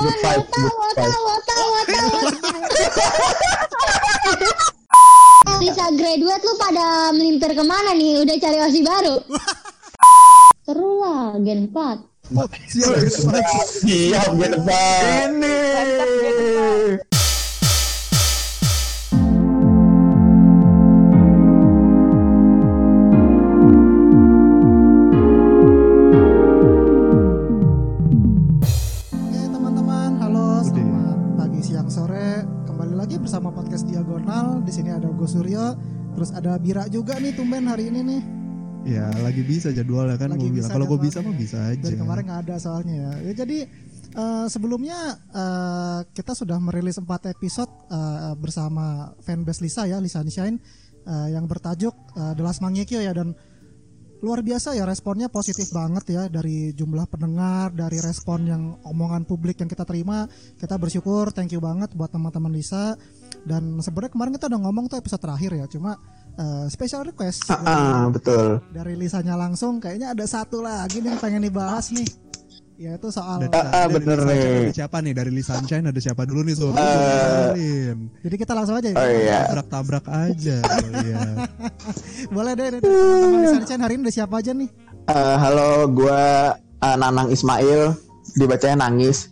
Good vibes. Sisa graduate lu pada melimpir kemana nih? Udah cari OSI baru? Seru lah Gen 4. Siap Gen 4 ini. Bersama podcast Diagonal. Di sini ada Go Suryo, terus ada Bira juga nih tumben hari ini nih. Ya lagi bisa jadwalnya kan. Kalau gue bisa mah bisa aja. Dari kemarin nggak ada soalnya ya. Jadi sebelumnya kita sudah merilis 4 episode bersama fanbase Lisa ya, Lisa Sunshine, yang bertajuk The Last Mangekyo ya, dan luar biasa ya, responnya positif banget ya, dari jumlah pendengar, dari respon yang omongan publik yang kita terima. Kita bersyukur, thank you banget buat teman-teman Lisa. Dan sebenarnya kemarin kita udah ngomong tuh episode terakhir ya, cuma special request betul. dari Lisanya langsung, kayaknya ada satu lagi nih yang pengen dibahas nih, yaitu soal bener nih. Ada siapa nih dari Lisa Sunshine, ada siapa dulu nih jadi kita langsung aja ya. Tabrak aja. Iya. Boleh deh teman-teman Lisa Sunshine, hari ini udah siapa aja nih? Halo, gue Nanang Ismail, dibacanya Nangis.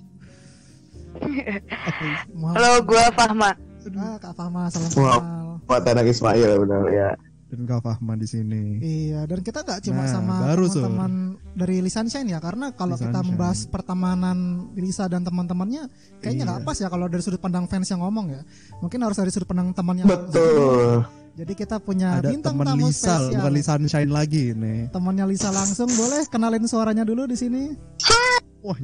Halo, gue Fahma. Kak Fahma, salam kenal. Buat Nanang Ismail, benar ya. Dan Kak Fahma di sini. Iya, dan kita nggak cuma sama teman-teman dari Lisa Sunshine ya, karena kalau kita membahas pertemanan Lisa dan teman-temannya, kayaknya nggak pas ya kalau dari sudut pandang fans yang ngomong ya. Mungkin harus dari sudut pandang temannya. Betul. Jadi kita punya ada bintang teman tamu Lisa, spesial. bukan Lisa Sunshine lagi nih. Temannya Lisa langsung, boleh kenalin suaranya dulu di sini. Wah,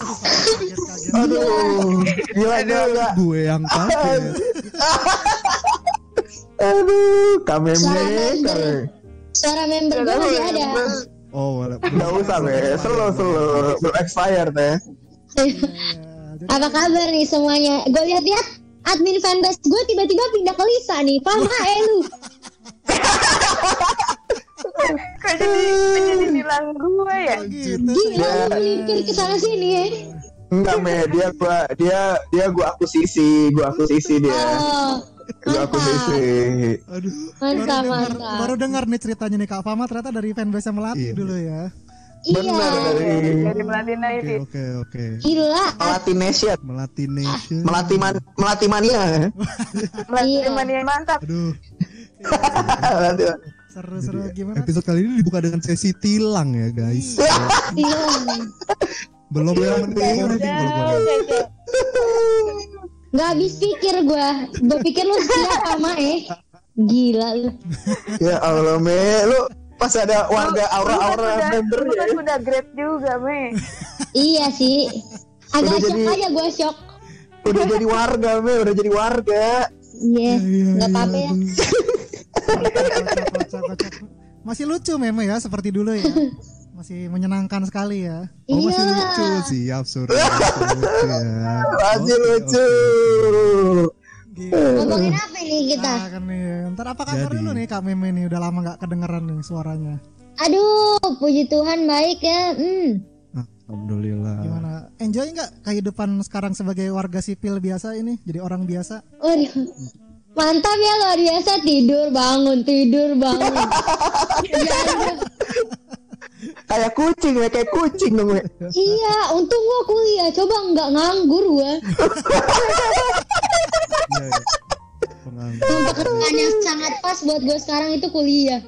aduh, gila. Gue yang kaget. Aduh, kamemnya. Suara member gue masih ada. Oh, nggak usah be, slow, belum expired teh. Apa kabar nih semuanya? Gue lihat-lihat admin fanbase gue tiba-tiba pindah ke Lisa nih. Paham gak lu? Kok jadi bilang gue ya? Gila lu melimpir ke sana sini ya. Enggak me, dia gue akuisisi dia. Gue akuisisi. Aduh. Mantap. Baru dengar nih ceritanya nih Kak Fahma, ternyata dari fanbase Melati dulu ya. Benar, dari Melati United. Oke. Gila. Melati mania. Melati mania mantap. Aduh. Seru gimana? Episode kali ini dibuka dengan sesi tilang ya guys. Belum yang mending kalau gue. Nggak habis pikir gue pikir lu siapa gila lu. Ya Allah me, lu pas ada warga aura member ya. Lu udah grade juga me. Iya sih, agak shock aja gue shock. Udah jadi warga. Iya, nggak apa-apa ya. Kocak. Masih lucu memang ya, seperti dulu ya. Masih menyenangkan sekali ya. Oh masih lucu, siap Surya. Masih lucu. Ngomongin apa nih kita? Ntar apa kabar dulu nih Kak Meme nih, udah lama gak kedengeran nih suaranya. Aduh, puji Tuhan baik ya. Alhamdulillah. Gimana? Enjoy gak kehidupan sekarang sebagai warga sipil biasa ini? Jadi orang biasa? Mantap ya, luar biasa. Tidur bangun. Kayak kucing dong. Iya, untung gua kuliah. Coba nggak nganggur gua. Pekerjaan yang sangat pas buat gua sekarang itu kuliah.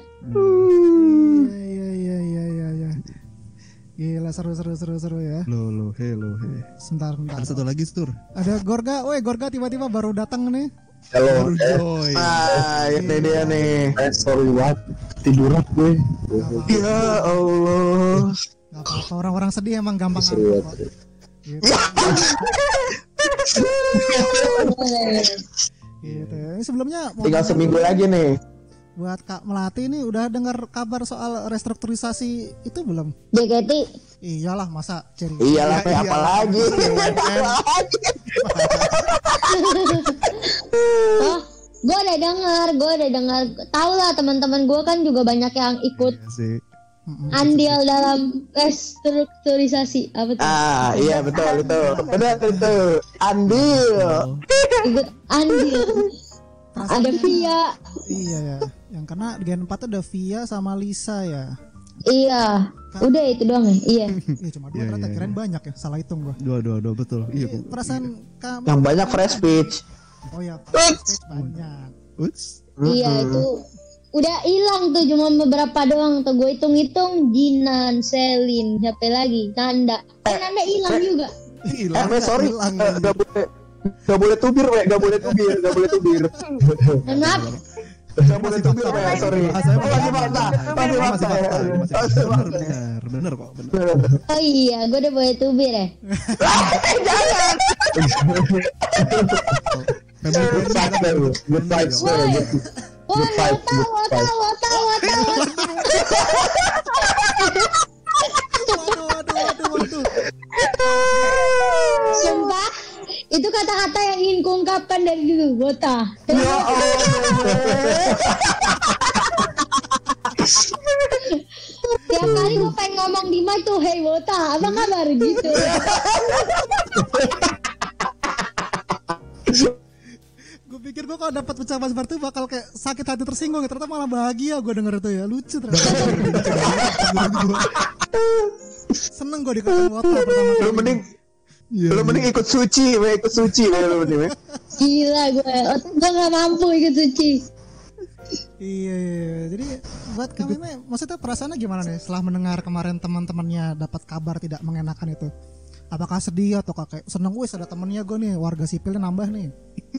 Iya. Gila, seru ya. Loh, he. Sebentar. Ada satu lagi, Sur. Ada Gorga tiba-tiba baru datang nih. Halo. Ini dia nih. Sorry banget, tiduran gue. Ya Allah. Gak apa-apa, orang-orang sedih emang gampang seru kok. Gitu. Ini sebelumnya tinggal seminggu lagi nih. Buat Kak Melati ini udah dengar kabar soal restrukturisasi itu belum? JKT. Iyalah, masa ceri. Iyalah, apalagi. Oh, gue udah dengar. Tahu lah, teman-teman gue kan juga banyak yang ikut. andil dalam restrukturisasi apa tuh? Iya betul itu. Benar itu. Andil. Ikut andil. Ada Via. Iya ya. Yang karena Gen 4 tuh ada Via sama Lisa ya. Iya. Udah itu doang ya. Iya. Iya cuma dua ternyata kirain banyak ya. Salah hitung gua. Dua betul. Iya. Perasaan kamu. Yang banyak fresh speech. Oh ya, fresh banyak. Iya itu udah hilang tuh cuma beberapa doang tuh gue hitung-hitung. Jinan, Selin, siapa lagi? Nanda. Nanda hilang juga. Sorry. Gak boleh tubir, we. Gak boleh tubir. Maaf. Gak boleh tubir, we. Sorry. Masih fakta. Bener kok. Oh iya, gue udah boleh tubir ya. Jangan. Good vibes. Waduh. Sumpah, itu kata-kata yang ingin kuungkapkan dari dulu, Wota. Ya Allah. Tiap kali gue pengen ngomong di mic tuh, hey Wota, apa kabar gitu. Gue pikir gue kalau dapat ucapan seperti itu bakal kayak sakit hati tersinggung, ternyata malah bahagia gue denger itu ya, lucu ternyata. Seneng gue dikatain Wota pertama kali. Lu mending ikut suci, we. Lu mending. Gila gue gak mampu ikut suci. Iya. Jadi buat kamu ini, maksudnya perasaannya gimana nih setelah mendengar kemarin teman-temannya dapat kabar tidak mengenakan itu? Apakah sedih atau kayak seneng, wis ada temennya gue nih, warga sipilnya nambah nih.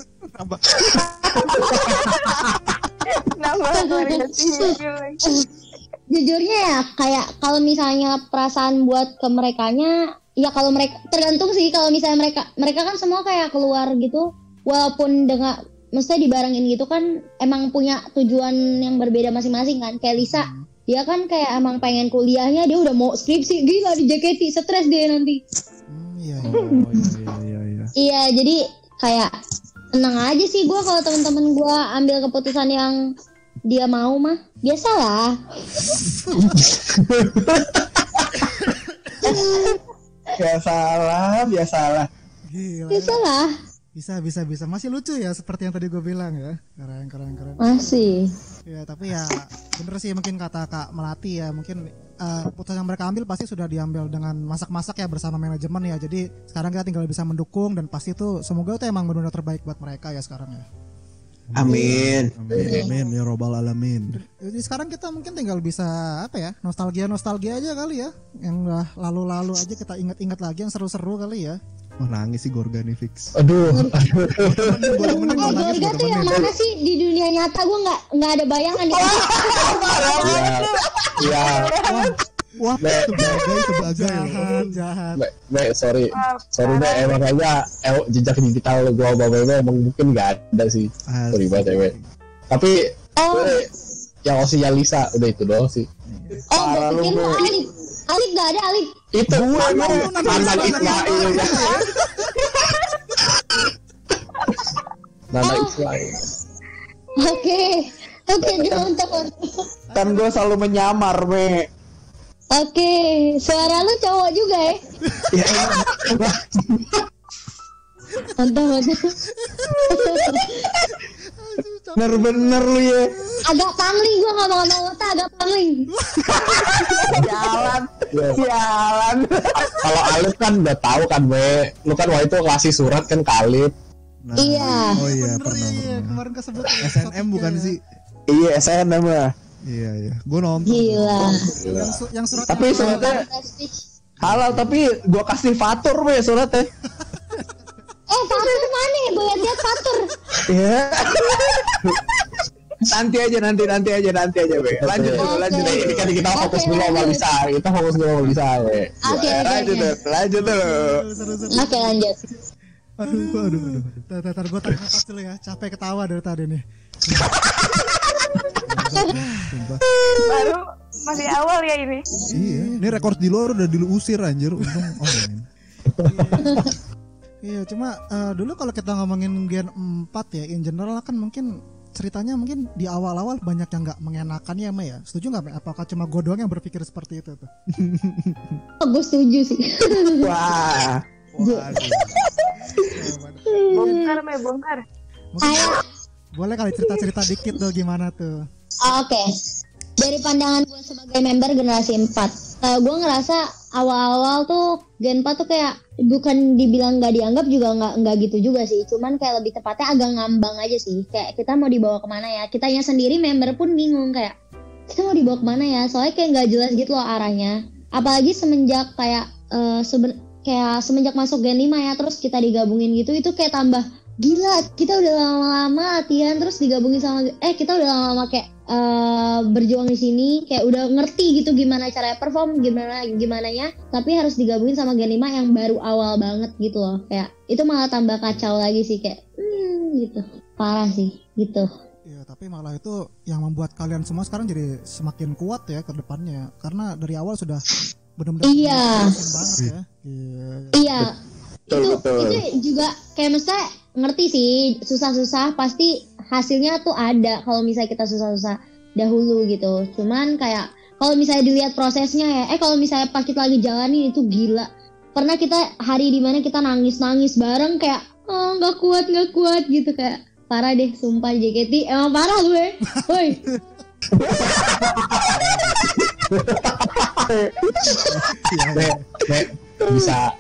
Nambah keluarga sipil. Jujurnya ya kayak kalau misalnya perasaan buat ke merekanya, ya kalau mereka tergantung sih. Kalau misalnya mereka kan semua kayak keluar gitu, walaupun dengan maksudnya dibarengin gitu kan, emang punya tujuan yang berbeda masing-masing kan. Kayak Lisa, dia kan kayak emang pengen kuliahnya, dia udah mau skripsi, gila di JKT, stres dia nanti. Iya. Iya, jadi kayak seneng aja sih gue kalau teman-teman gue ambil keputusan yang dia mau mah. Biasalah. Biasalah. Gila. Biasalah. Bisa. Masih lucu ya seperti yang tadi gue bilang ya. Keren. Masih. Ya tapi ya bener sih mungkin kata Kak Melati ya, mungkin keputusan yang mereka ambil pasti sudah diambil dengan masak-masak ya bersama manajemen ya. Jadi sekarang kita tinggal bisa mendukung dan pasti itu semoga itu emang benar-benar terbaik buat mereka ya sekarang ya. Amin ya robbal alamin. Jadi sekarang kita mungkin tinggal bisa apa ya, nostalgia aja kali ya, yang udah lalu aja kita ingat-ingat lagi yang seru-seru kali ya. Wah nangis sih Gorgani fix. Aduh. Gorga tuh yang mana sih di dunia nyata? Gue nggak ada bayangan ya. Iya. Wah jahat. Sorry emang kayaknya jejak digital gua bawa emang mungkin nggak ada sih. Sorry banget Tapi yang osinya Lisa udah itu doang sih. Oh, gue pikir lu Alif nggak ada Alif. Itu gue mantan Ismail ya. Nana Ismail. Oke, untuk Kan gue selalu menyamar, me. Oke, suara lu cowok juga ya? Ya. Mantap. Bener lu ya. Agak pangling gue ngomong-ngomong Wota, agak pangling. Jalan. Kalau Alif kan udah tahu kan, me. Lu kan waktu itu ngasih surat kan ke Alif. Nah, Iya. Oh iya, Bener pernah. iya, kemarin kesebut SNM bukan sih? Iya, SNM lah. Iya. Gue nonton. Gila. Yang surat Tapi suratnya halal, tapi gua kasih fatur, me, suratnya. Fatur mana? Gue liat Fatur. Iya. Nanti aja, be. Lanjut dulu. Ini kan kita fokus dulu sama Lisa. We. Oke. Lanjut dulu. Oke, lanjut. Aduh. Tar gue tarik nafas dulu ya, capek ketawa dari tadi nih. Baru masih awal ya ini. Iya, ini rekor di luar udah diusir anjir. Untung Iya, cuma dulu kalau kita ngomongin Gen 4 ya, in general kan mungkin ceritanya mungkin di awal-awal banyak yang nggak mengenakan ya, Mei ya. Setuju nggak, Mei? Apakah cuma gue doang yang berpikir seperti itu tuh? Gue setuju sih. Wah. Bongkar, Mei, bongkar. Mungkin boleh kali cerita-cerita dikit tuh gimana tuh? Oke. Dari pandangan gue sebagai member generasi 4, gue ngerasa awal-awal tuh Gen 4 tuh kayak bukan dibilang nggak dianggap juga nggak gitu juga sih. Cuman kayak lebih tepatnya agak ngambang aja sih. Kayak kita mau dibawa kemana ya? Kitanya sendiri member pun bingung kayak kita mau dibawa kemana ya? Soalnya kayak nggak jelas gitu loh arahnya. Apalagi semenjak kayak semenjak masuk Gen 5 ya, terus kita digabungin gitu, itu kayak tambah gila. Kita udah lama-lama latihan terus digabungin sama kita udah lama-lama kayak berjuang di sini, kayak udah ngerti gitu gimana cara perform, gimana ya, tapi harus digabungin sama Gen 5 yang baru awal banget gitu loh. Kayak itu malah tambah kacau lagi sih, kayak gitu. Parah sih gitu. Iya, tapi malah itu yang membuat kalian semua sekarang jadi semakin kuat ya ke depannya, karena dari awal sudah benar-benar banget ya. Iya. Betul. Itu juga kayak misalnya ngerti sih, susah-susah pasti hasilnya tuh ada kalau misalnya kita susah-susah dahulu gitu. Cuman kayak kalau misalnya dilihat prosesnya ya, kalau misalnya pas kita lagi jalanin itu gila. Pernah kita hari dimana kita nangis bareng kayak nggak kuat gitu, kayak parah deh sumpah. JKT emang parah gue. Woi. Bisa.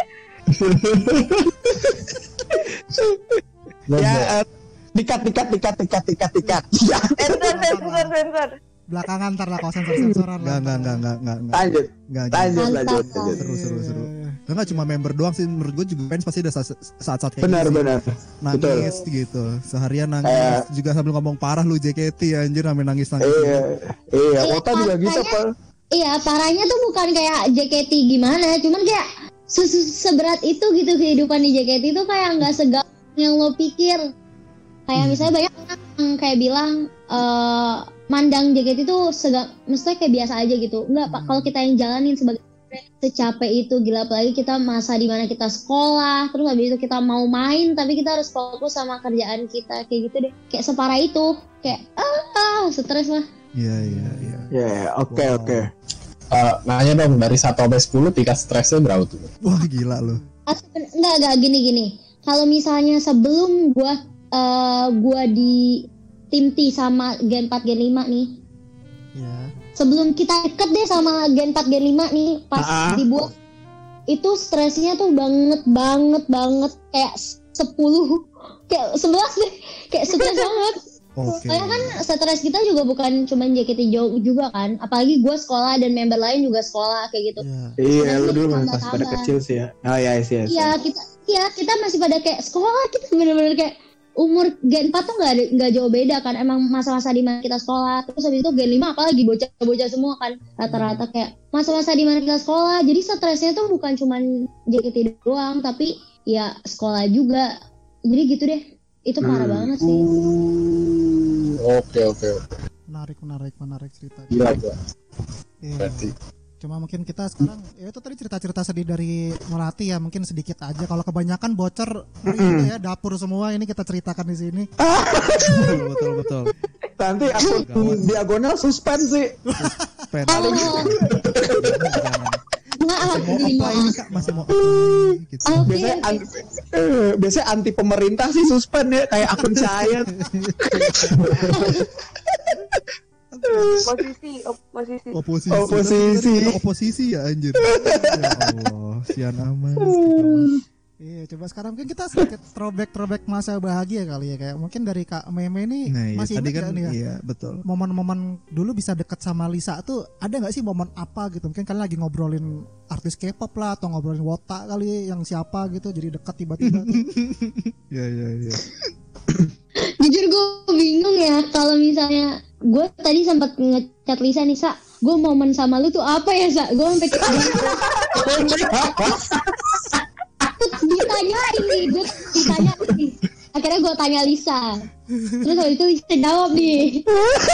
Ya, dikat. Ya. Sensor. Belakangan ntar lah kalau sensor-sensoran lah. Lanjut. Seru. Enggak cuma member doang sih, menurut gue juga fans pasti ada saat-saat kayak Benar. nangis gitu. Seharian nangis juga sambil ngomong parah lu JKT anjir, sambil nangis. Iya, Wota juga gitu, Pak. Iya, parahnya tuh bukan kayak JKT gimana, cuman kayak seberat itu gitu kehidupan di JKT itu, kayak nggak segampang yang lo pikir. Kayak misalnya banyak orang yang kayak bilang mandang JKT itu maksudnya kayak biasa aja gitu. Enggak, Pak, kalau kita yang jalanin sebagai secapek itu, gila. Apalagi kita masa dimana kita sekolah, terus habis itu kita mau main tapi kita harus fokus sama kerjaan kita, kayak gitu deh. Kayak separah itu, kayak stres lah. Iya. Ya, oke. Nanya dong, dari 1 sampai 10 tingkat stresnya berapa tuh? Wah gila lu. Enggak gini. Kalau misalnya sebelum gua di tim T sama Gen 4 Gen 5 nih. Iya. Sebelum kita deket deh sama Gen 4 Gen 5 nih, pas dibuat itu stresnya tuh banget kayak 10 kayak 11 deh, kayak stres banget. Soalnya kan stres kita juga bukan cuma JKT juga kan, apalagi gue sekolah dan member lain juga sekolah kayak gitu. Iya, lu dulu masih pada kecil sih ya. Oh iya. Iya, kita masih pada kayak sekolah, kita bener-bener kayak umur Gen 4 tuh nggak jauh beda kan, emang masa-masa di mana kita sekolah. Terus habis itu Gen 5 apalagi bocah semua kan, rata-rata kayak masa-masa di mana kita sekolah. Jadi stresnya tuh bukan cuma JKT doang, tapi ya sekolah juga. Jadi gitu deh, itu parah banget sih. Oke. Menarik cerita. Gila. Iya. Berarti. Cuma mungkin kita sekarang ya itu tadi cerita-cerita sedih dari Melati ya, mungkin sedikit aja. Kalau kebanyakan bocor gitu ya, dapur semua ini kita ceritakan di sini. Betul. Nanti akun diagonal suspend sih. Masih mau apply gitu. Biasanya anti pemerintah sih suspend ya, kayak akun saya. Oposisi ya anjir. Ya Allah, sian aman. Iya, coba sekarang mungkin kita sedikit throwback masa bahagia kali ya, kayak mungkin dari Kak Meme ini masih ingat nih ya? Iya, betul. Momen-momen dulu bisa deket sama Lisa tuh ada nggak sih momen apa gitu? Mungkin kalian lagi ngobrolin artis K-pop lah, atau ngobrolin Wota kali yang siapa gitu, jadi dekat tiba-tiba. Iya. Jujur gue bingung ya, kalau misalnya gue tadi sempat ngechat Lisa nih, Sa, gue momen sama lu tuh apa ya, Sa? Gue sampai ditanyain nih. Akhirnya gue tanya Lisa, terus habis itu Lisa jawab nih.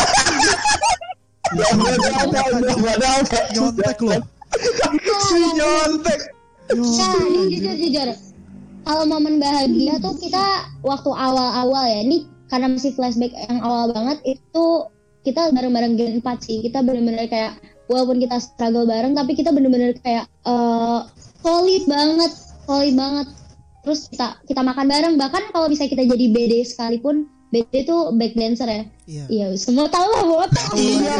Nyontek loh. Nyontek. Jujur. Kalau momen bahagia tuh kita waktu awal-awal ya, ini karena masih flashback yang awal banget itu kita bareng-bareng Gen 4 sih. Kita bener-bener kayak walaupun kita struggle bareng tapi kita bener-bener kayak solid banget. Terus kita makan bareng, bahkan kalau bisa kita jadi BD sekalipun. BD itu back dancer ya. Iya, semua tahu lah botak. Iya.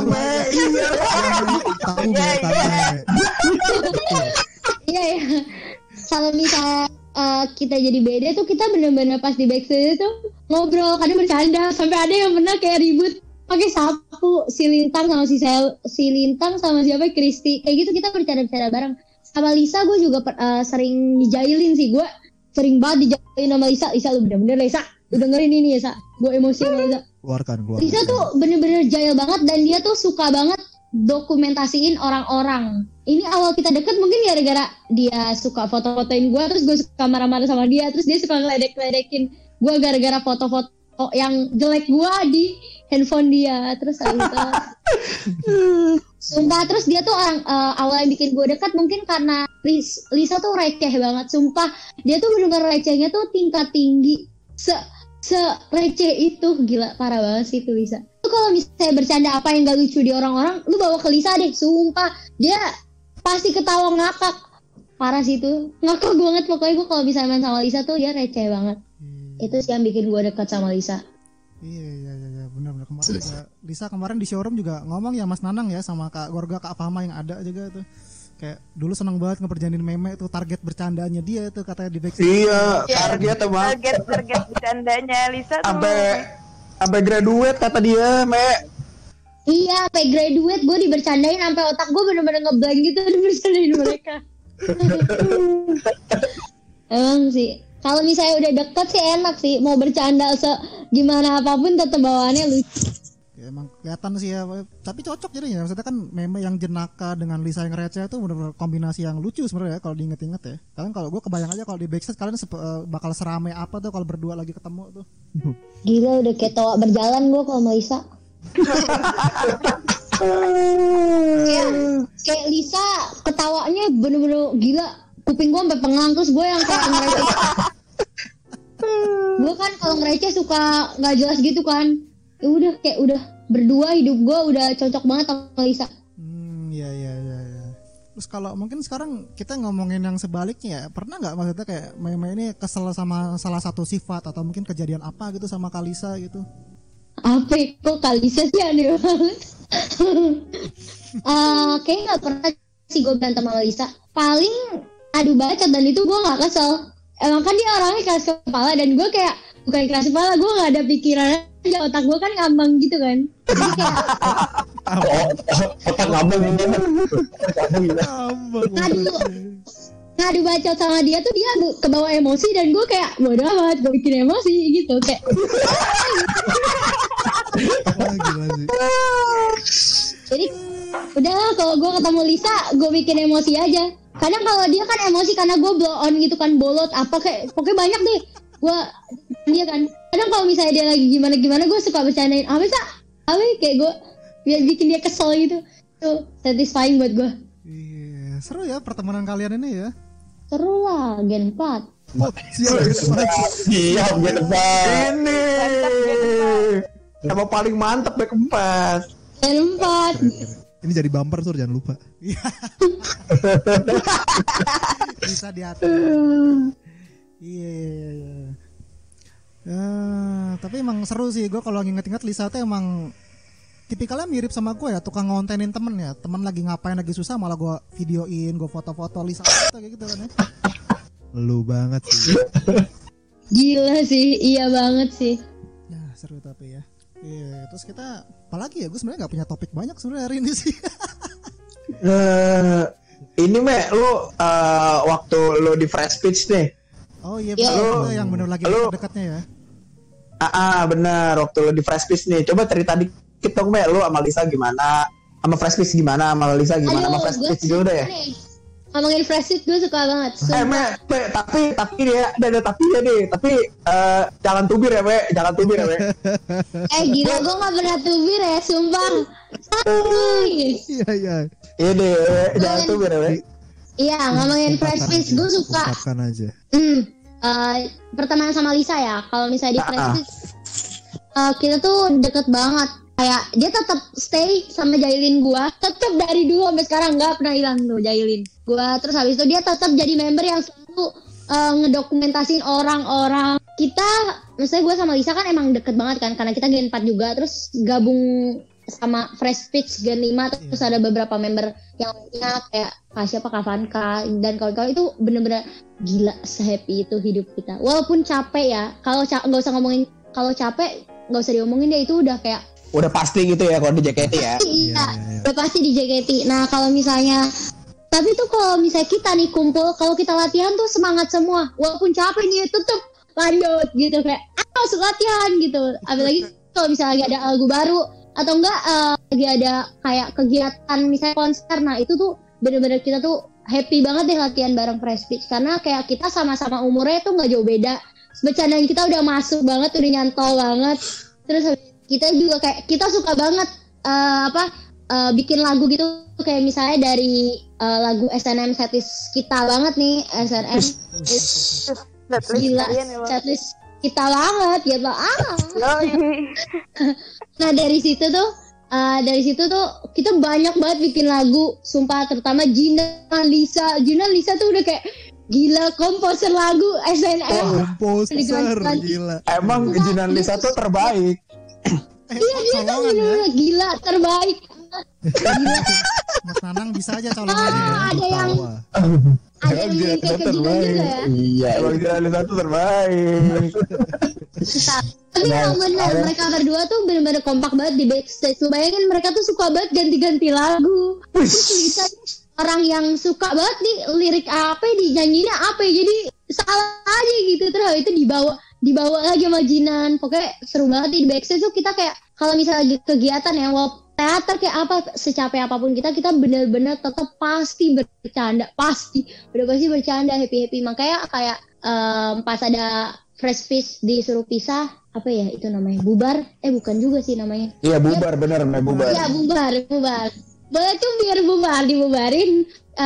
Kalau misalnya kita jadi BD tuh kita bener-bener pas di backstage tuh ngobrol, kadang bercanda, sampai ada yang pernah kayak ribut pakai sapu si Lintang sama siapa Kristi, kayak gitu kita bercanda-bercanda bareng. Sama Lisa gue juga sering dijailin sih, gue sering banget dijailin sama Lisa. Lu bener-bener Lisa, lu dengerin ini ya Sa, gue emosi sama Lisa. Keluarkan. Lisa tuh bener-bener jahil banget dan dia tuh suka banget dokumentasiin orang-orang. Ini awal kita deket mungkin gara-gara dia suka foto-fotoin gue, terus gue suka marah-marah sama dia, terus dia suka ngeledek-ledekin gue gara-gara foto-foto yang jelek gue di handphone dia. Terus gitu. Sumpah, terus dia tuh orang awal yang bikin gue dekat mungkin karena Lisa tuh receh banget. Sumpah, dia tuh bener-bener recehnya tuh tingkat tinggi. Se-receh itu, gila, parah banget sih tuh Lisa. Tuh kalau misalnya bercanda apa yang gak lucu di orang-orang, lu bawa ke Lisa deh, sumpah. Dia pasti ketawa ngakak. Parah sih tuh, ngakak banget pokoknya. Gue kalau misalnya main sama Lisa tuh dia receh banget. Itu sih yang bikin gue dekat sama Lisa. Iya, benar-benar. Kemarin juga, Lisa kemarin di showroom juga ngomong ya Mas Nanang ya sama Kak Gorga, Kak Fama yang ada juga tuh. Kayak dulu seneng banget ngeperjanin meme tuh, target bercandanya dia tuh katanya di backstage. Iya, target emang. Target bercandanya Lisa tuh. Sampai graduate kata dia, Iya, sampai graduate gue dibercandain sampai otak gue bener-bener ngeblank gitu dibercandain mereka. Emang sih, kalau misalnya udah deket sih enak sih, mau bercanda gimana apapun tetap bawaannya lucu. Ya, emang kelihatan sih ya, tapi cocok jadinya. Maksudnya kan meme yang jenaka dengan Lisa yang receh itu benar-benar kombinasi yang lucu sebenarnya kalau diinget-inget ya. Kalian kalau gue kebayang aja kalau di backstage kalian bakal serame apa tuh kalau berdua lagi ketemu tuh. Gila, udah kayak toa berjalan gue kalau sama Lisa. kayak Lisa ketawanya bener-bener gila, kuping gue sampai pengang, terus gue yang kayak ngereceh. Gue kan kalau ngereceh suka nggak jelas gitu kan. Ya udah kayak udah berdua hidup gue udah cocok banget sama Lisa. Iya. Terus kalau mungkin sekarang kita ngomongin yang sebaliknya ya, pernah nggak maksudnya kayak meme ini kesel sama salah satu sifat atau mungkin kejadian apa gitu sama Kalisa gitu? Apa kok Kalisa sih aneh banget. Kayaknya nggak pernah sih gue berantem sama Lisa. Paling adu bacot, dan itu gue nggak kesel. Emang kan dia orangnya keras kepala dan gue kayak bukan keras kepala, gue nggak ada pikiran aja, otak gue kan ngambang gitu kan. Jadi kayak otak ngambang ngadu bacot sama dia tuh dia kebawa emosi dan gue kayak bodoh amat, gue bikin emosi gitu kayak. Gila sih. Jadi udahlah, kalau gue ketemu Lisa gue bikin emosi aja. Kadang kalau dia kan emosi karena gue blow on gitu kan, bolot apa kayak pokoknya banyak deh gue dia kan. Kadang kalau misalnya dia lagi gimana gue suka bercandain apa kayak gue biar bikin dia kesel gitu. Tuh satisfying buat gue. Iya, seru ya pertemanan kalian ini ya. Seru lah, Gen 4. Siap Gen 4. Ini sama paling mantep Gen 4. Gen 4. Ini jadi bumper tuh, jangan lupa. Bisa diatur. Iya. Tapi emang seru sih, gue kalau inget-inget Lisa tuh emang tipikalnya mirip sama gue ya, tukang ngontenin temen ya. Temen lagi ngapain, lagi susah malah gue videoin, gue foto-foto Lisa kayak gitu kan ya. Lu banget sih. Gila sih, iya banget sih. Nah seru tapi ya. Iya, terus kita apalagi ya, gue sebenarnya nggak punya topik banyak sebenarnya hari ini sih. Ini lu waktu lu di Fresh Pitch nih. Oh iya betul, yang bener lagi dekatnya ya. Benar, waktu lu di Fresh Pitch nih. Coba cerita dikit dong, lu sama Lisa gimana? Sama Fresh Pitch gimana? Sama Lisa gimana? Sama Fresh Pitch dulu deh. Ngomongin Fresh Pitch gue suka banget. Tapi dia ada tapinya deh. Tapi jangan tubir ya, jangan tubir ya, gila, gue nggak pernah tubir ya, sumpah. Iya. Iya deh, jangan tubir ya, Iya, ngomongin Fresh Pitch gue suka. Ungkapkan aja. Pertemanan sama Lisa ya. Kalau misalnya di Fresh Pitch kita tuh deket banget. Kayak dia tetap stay sama Jailin gua, tetap dari dulu sampai sekarang nggak pernah hilang tuh Jailin gua. Terus habis itu dia tetap jadi member yang selalu ngedokumentasin orang-orang. Kita, maksudnya gua sama Lisa kan emang deket banget kan, karena kita Gen 4 juga, terus gabung sama Fresh Speech Gen 5, terus ada beberapa member yang lainnya kayak siapa Kak Vanka dan kawan-kawan. Itu bener-bener gila, se-happy itu hidup kita. Walaupun capek ya, kalau nggak usah ngomongin, kalau capek nggak usah diomongin deh, itu udah kayak udah pasti gitu ya kalau di JKT ya. Iya, udah pasti di JKT. Nah kalau misalnya, tapi tuh kalau misalnya kita nih kumpul, kalau kita latihan tuh semangat semua, walaupun capek nih tetep lanjut gitu, kayak harus latihan gitu. Apalagi kalau misalnya lagi ada lagu baru atau enggak lagi ada kayak kegiatan misalnya konser, nah itu tuh bener-bener kita tuh happy banget deh latihan bareng Fresh Speech, karena kayak kita sama-sama umurnya tuh nggak jauh beda, bercandaan kita udah masuk banget, udah nyantol banget. Terus kita juga kayak kita suka banget bikin lagu gitu, kayak misalnya dari lagu SNM setlist kita banget nih, SNM gila setlist kita banget gitu. Nah dari situ tuh kita banyak banget bikin lagu, sumpah, terutama Gina Lisa tuh udah kayak gila komposer lagu SNM. Komposer gila. Emang Gina Lisa tuh terbaik. Iya dia tuh bener-bener gila, terbaik. Gila. Mas Nanang bisa aja colongan. Ada yang kayak gitu juga ya. Iya, emang Gina Lisa tuh terbaik. Tapi yang bener, mereka berdua tuh bener-bener kompak banget di backstage. Lu bayangin mereka tuh suka banget ganti-ganti lagu. Bisa orang yang suka banget nih lirik apa, dinyanyinya apa, jadi salah aja gitu. Terus itu dibawa lagi sama Jinan. Pokoknya seru banget di backstage tuh. Kita kayak kalau misalnya kegiatan ya, teater kayak apa, secapek apapun kita bener-bener tetap pasti bercanda, udah pasti bercanda, happy. Makanya kayak pas ada Fresh Speech disuruh pisah, apa ya itu namanya, bubar, bukan juga sih namanya. Iya bubar, bener namanya bubar. Iya bubar. Boleh tuh biar dibubarin.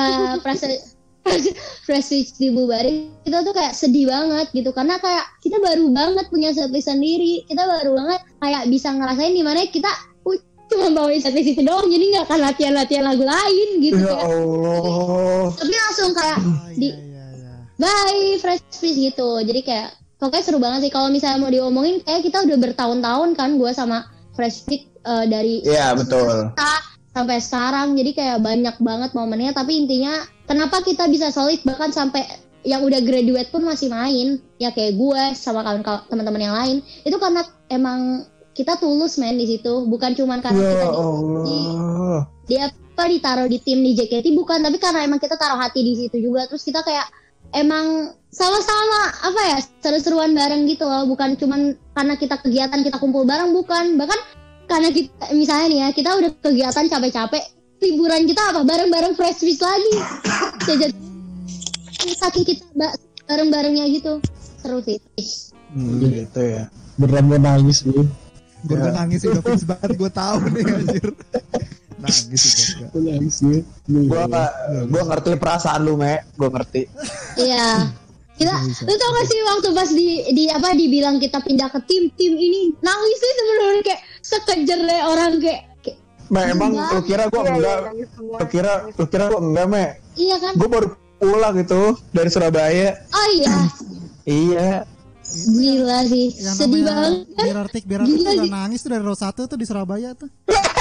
Fresh Speech dibubarin, kita tuh kayak sedih banget gitu, karena kayak kita baru banget punya setlist sendiri, kita baru banget kayak bisa ngerasain dimana kita cuma bawain setlist itu doang, jadi nggak akan latihan lagu lain gitu. Ya Allah. Tapi langsung kayak bye Fresh Speech gitu, jadi kayak pokoknya seru banget sih. Kalau misalnya mau diomongin, kayak kita udah bertahun-tahun kan, gue sama Fresh Speech dari betul sampai sekarang, jadi kayak banyak banget momennya. Tapi intinya kenapa kita bisa solid bahkan sampai yang udah graduate pun masih main ya, kayak gue sama kawan-kawan teman-teman yang lain, itu karena emang kita tulus main di situ, bukan cuman karena kita ditaruh di tim di JKT, bukan, tapi karena emang kita taruh hati di situ juga. Terus kita kayak emang sama-sama seru-seruan bareng gitu loh, bukan cuman karena kita kegiatan kita kumpul bareng, bukan, bahkan karena kita misalnya nih ya, kita udah kegiatan capek-capek, liburan kita bareng-bareng Fresh Speech lagi. Jadi saking kita bareng-barengnya gitu, seru sih. Gitu ya. Beneran gue nangis gue. Gue nangis sih, udah fix banget, gue tahu nih anjir. Nangis sih gue. Nangis gue. Gue ngerti perasaan lu, Me. Gue ngerti. Iya. Lu tau gak sih waktu pas dibilang kita pindah ke tim ini, nangis sih sebenarnya kayak sekejer deh orang kayak emang lu kira gue enggak? Lu kira gue enggak, Me? Iya kan? Gue baru pulang gitu dari Surabaya. Oh iya. Iya. Gila sih, yang sedih banget kan? Birartik udah nangis tuh dari Row 1 tuh di Surabaya tuh.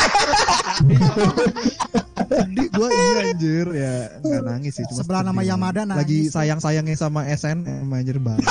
Sedih gue, iya anjir, ya nggak nangis sih, cuma sebelah nama Yamada nangis. Lagi sayang-sayangnya sama SN, anjir banget.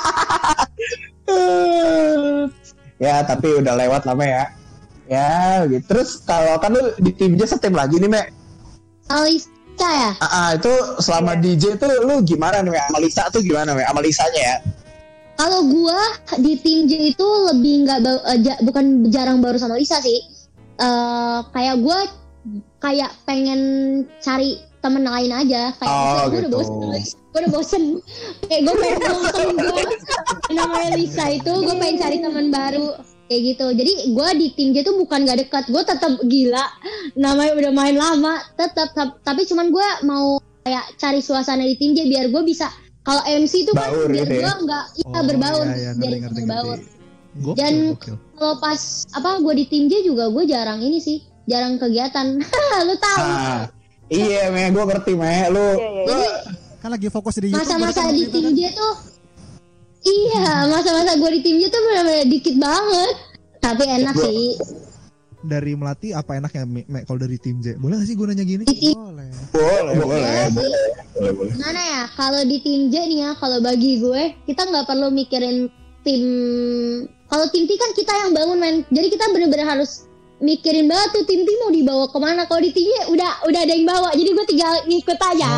Ya tapi udah lewat lama ya. Ya gitu. Terus kalau kan lu di tim J setim lagi nih, Me. Alisa ya? Itu selama DJ tuh lu gimana nih, Me? Sama Lisa tuh gimana, Me? Sama Lisanya ya? Kalau gua di tim J itu lebih bukan jarang baru sama Lisa sih. Kayak gua kayak pengen cari temen lain aja. Kayak gue udah bosen. Kayak gue pengen bosen gue namanya Lisa itu, gue pengen cari teman baru kayak gitu. Jadi gue di tim J tuh bukan gak dekat, gue tetap gila. Namanya udah main lama, tetap. Tapi cuman gue mau kayak cari suasana di tim J biar gue bisa. Kalau MC tuh kan biar gue nggak berbaur, biar berbaur. Dan kalau pas gue di tim J juga gue jarang ini sih, jarang kegiatan. Lu tahu? Iya, gue ngerti, lu. Jadi kan lagi fokus di YouTube. Masa-masa di tim J tuh, masa-masa gue di tim J tuh benar-benar dikit banget. Tapi enak sih. Dari Melati apa enaknya kalau dari tim J? Boleh gak sih gue nanya gini? Boleh. Gimana ya? Kalau di tim J nih ya, kalau bagi gue kita nggak perlu mikirin tim. Kalau tim T kan kita yang bangun men. Jadi kita benar-benar harus mikirin banget tuh tim mau dibawa kemana. Kalau di tim J udah ada yang bawa. Jadi gue tinggal ngikut aja.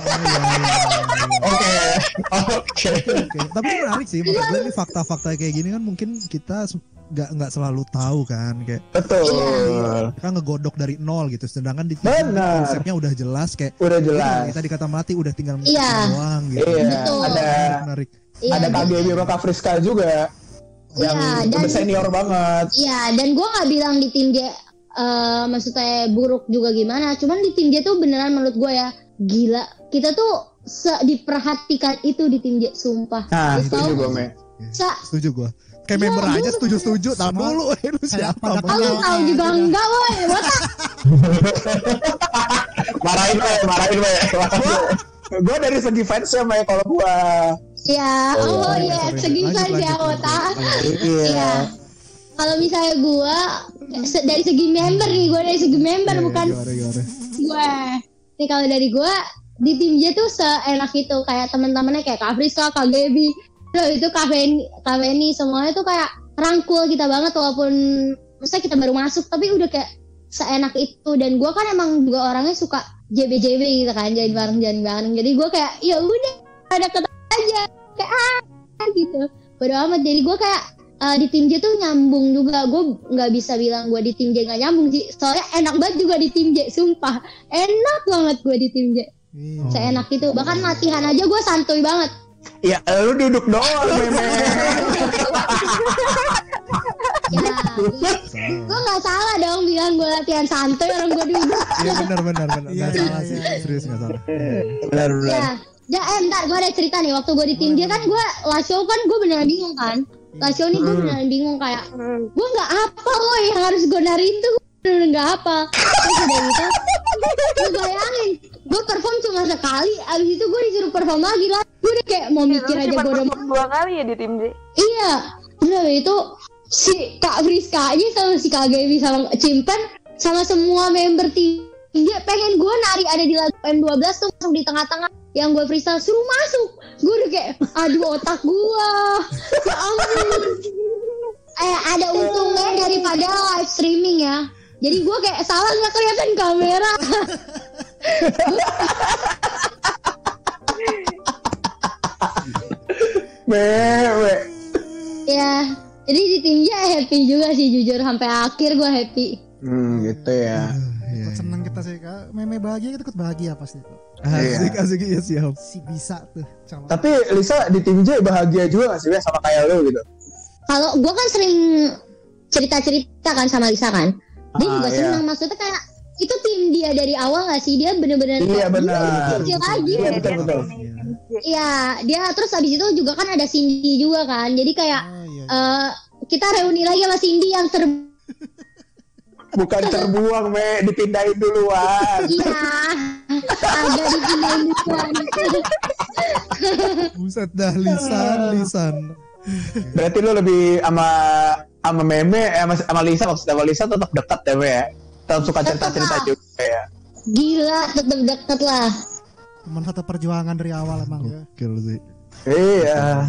Oke. Tapi menarik sih. Menurut gue ini fakta-fakta kayak gini kan mungkin kita nggak selalu tahu kan, kayak betul kan ngegodok dari nol gitu, sedangkan di konsepnya udah jelas, kayak tadi kata Melati udah tinggal doang gitu. Menarik. Ada KGB sama Kak Friska juga yang udah senior banget. Iya, dan gue nggak bilang di tim J maksudnya buruk juga gimana, cuman di tim J tuh beneran menurut gue ya gila, kita tuh diperhatikan itu di tim J, sumpah. Setuju gue, Me. Setuju gue. Kayak member aja setuju. Tahu dulu, lu siapa? Lu tahu juga enggak, woi. Botak. Marahin, Me. Gue dari segi fansnya, Me, kalau gue. Ya, segi fans ya, Botak. Iya. Kalau misalnya gue dari segi member nih, bukan gue. Nih kalau dari gue di tim J tuh seenak itu, kayak teman-temannya kayak Kak Friska, Kak Gaby, itu Kaveni semuanya tuh kayak rangkul kita banget, walaupun misalnya kita baru masuk tapi udah kayak seenak itu. Dan gue kan emang juga orangnya suka JB gitu kan, jalan bareng. Jadi gue kayak ya udah ada kata aja kayak gitu, bodo amat. Jadi gue kayak di tim J tuh nyambung juga. Gue nggak bisa bilang gue di tim J nggak nyambung sih, soalnya enak banget juga di tim J, sumpah enak banget gue di tim J. Seenak itu, bahkan latihan aja gue santuy banget. Ya lu duduk doang, Meme. Ya, gue nggak salah dong bilang gue latihan santuy, orang gue duduk. Iya benar. Nggak salah sih, serius nggak salah. Benar. Ya, ntar gue ada cerita nih. Waktu gue di tim dia kan gue last show kan gue beneran bingung kan. Last show nih gue beneran bingung, kayak gue nggak apa loh yang harus gue nariin tuh, bener nggak apa. Terus udah gitu, gue bayangin gue perform cuma sekali, abis itu gue disuruh perform lagi lah. Gue udah kayak mau mikir aja, gue udah 2 kali ya di tim J. Iya, udah itu si Kak Friska aja sama si Kak Gaby sama Cimpen sama semua member tim dia pengen gue nari ada di lagu M12 tuh, masuk di tengah-tengah yang gue freestyle, suruh masuk. Gue udah kayak aduh otak gue, ya ampun. Ada untungnya daripada live streaming ya, jadi gue kayak salah nggak kelihatan kamera. Ya, jadi di timnya happy juga sih, jujur sampai akhir gue happy. Gitu ya. Ikut seneng kita sih, Kak. Meme bahagia, kita ikut bahagia pasti. Asik ya, siap. Si bisa tuh. Tapi Lisa di tim J bahagia juga gak sih sama kayak lo gitu? Kalau gue kan sering cerita kan sama Lisa kan, dia juga senang. Maksudnya kayak itu tim dia dari awal gak sih, dia bener-bener kecil lagi. Iya betul. Iya, dia terus abis itu juga kan ada Cindy juga kan, jadi kayak kita reuni lagi sama Cindy yang bukan terbuang, Me, dipindahin duluan. Iya, agak dipindahin duluan. Buset dah, lisan. Berarti lu lebih sama Meme, sama Lisa, maksudnya sama Lisa tetap dekat ya, Me ya? Tetap suka cerita-cerita juga ya? Gila, tetap dekat lah. Teman satu perjuangan dari awal emang ya. Gokil sih. Iya.